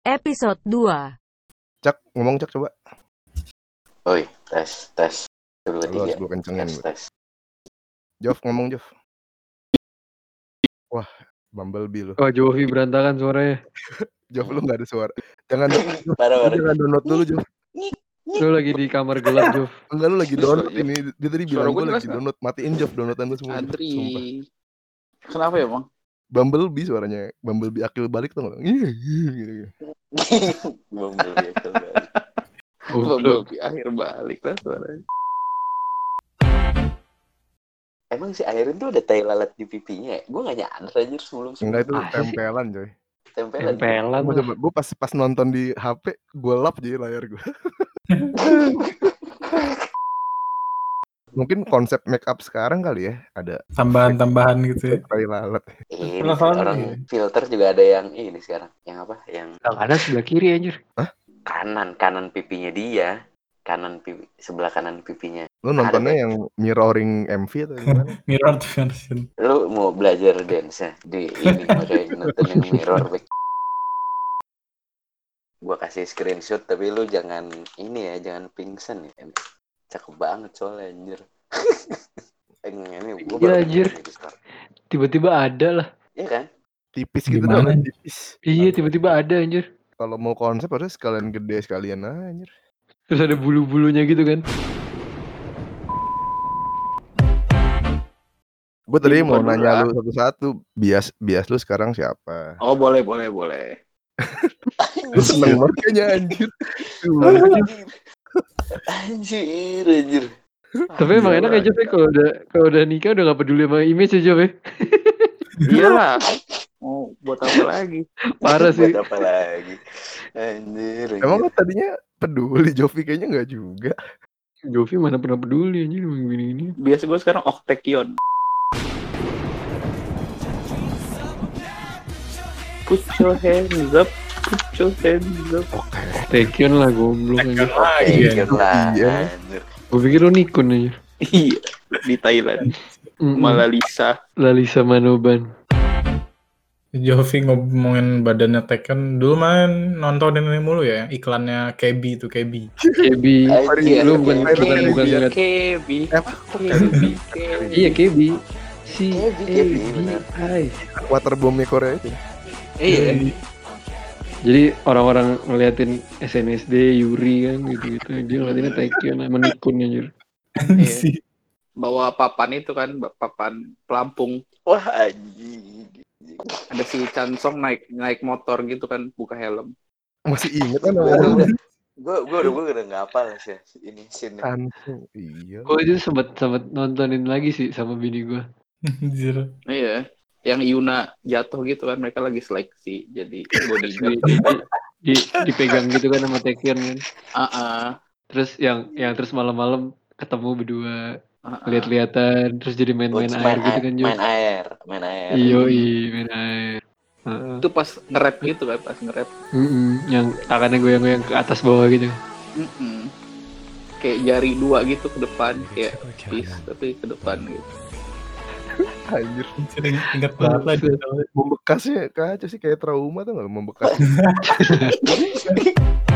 Episode 2. Cak, ngomong Cak coba. Oi, tes. Dulu Lu harus tiga. gue kencengin. Tes. Jof, ngomong Jof. Wah, Bumblebee lu. Wah, Jovi berantakan suaranya. Jof, lu gak ada suara. Jangan Parah. jangan download dulu Jof. Lu lagi di kamar gelap, Jov. Enggak, lu lagi download ini. Dia tadi Suara bilang gua gue jelas lagi nggak? download. Matiin Jof downloadan lu semua. Jof. Sumpah. Adri. Kenapa ya, Bang? Bumblebee suaranya. Bumblebee akil balik tuh gak? Gitu. Bumblebee kembali. Bumblebee akhir balik lah suaranya. Emang si Airin tuh ada tai lalat di pipinya ya? Gue gak nyadar aja sebelum Enggak, itu Ah, sih. tempelan coy. tempelan. Gue pas nonton di HP, gue lap jadi layar gue. Mungkin konsep make up sekarang kali ya, ada Tambahan gitu ya. tai lalat. Ini Penasaran orang nih. filter juga ada yang ini sekarang. Yang apa? Yang Yang kanan sebelah kiri anjir. kanan pipinya dia. Sebelah kanan pipinya. Lu nontonnya yang mirroring MV atau gimana? Mirror version. Lu mau belajar dance di ini makanya nonton yang mirror back. Gua kasih screenshot tapi lu jangan ini ya, jangan pingsan ya. Cakep banget soalnya anjir. Ini gua Iya, baru anjir. nonton di Discord. Tiba-tiba ada lah. Iya kan? Tipis gitu Gimana? kan, tipis. Iya, tiba-tiba ada anjir. Kalau mau konsep harus sekalian gede sekalian anjir. Terus ada bulu-bulunya gitu kan. Gue tadi Iya, mau bukan nanya dulu, lu satu-satu, bias lu sekarang siapa? Oh, boleh. Lu seneng banget kayaknya anjir. Anjir. Tapi emang enak aja Jov, kalau udah nikah udah gak peduli sama image aja, Jov. Iyalah. Mau buat apa lagi? Parah sih. Buat apa lagi? Anjir. Emang kan tadinya peduli, Jovi kayaknya enggak juga. Jovi mana pernah peduli anjir sama gini-gini. Biasa gue sekarang Octakion. Put your hands up. Tekion lah goblok anjir. Iya lah. Iya. Anjir. Gue pikir lu Nikon aja. Iya, di Thailand. Malalisa. Lalisa Manoban. Jovi ngomongin badannya Tekken dulu main nontonin ini mulu ya, iklannya KB itu KB. Kebi. Anjir. Lu bukan ngeliat. Kebi. Iya Kebi. Kebi, benar. Hai. Waterbomb-nya Korea itu. Iya. Jadi orang-orang ngeliatin SNSD, Yuri kan gitu-gitu. Dia ngeliatinnya Taekyon sama Nikon anjir. Si Bawa papan itu kan, papan pelampung. Wah anjing. Ada si Chansong naik motor gitu kan, buka helm. Masih inget kan namanya? Gue udah nggak hafal sih ini scene. Langsung. Iya. Gue itu sempet nontonin lagi sih sama bini gue. anjir. Iya. Yang Yuna jatuh gitu kan, mereka lagi seleksi jadi bodyguard. Dipegang gitu kan sama Taekyon kan. Terus Terus yang terus malam-malam ketemu berdua lihat-lihatan terus jadi main-main air gitu kan Jo. Main air. Main air. itu pas nge-rap gitu kan, Yang tangannya goyang-goyang ke atas bawah gitu. Kayak jari dua gitu ke depan, kayak peace tapi ke depan gitu. Anjir. Anjir, ingat banget lah dia. Membekasnya kacau sih, kayak trauma tuh nggak membekas.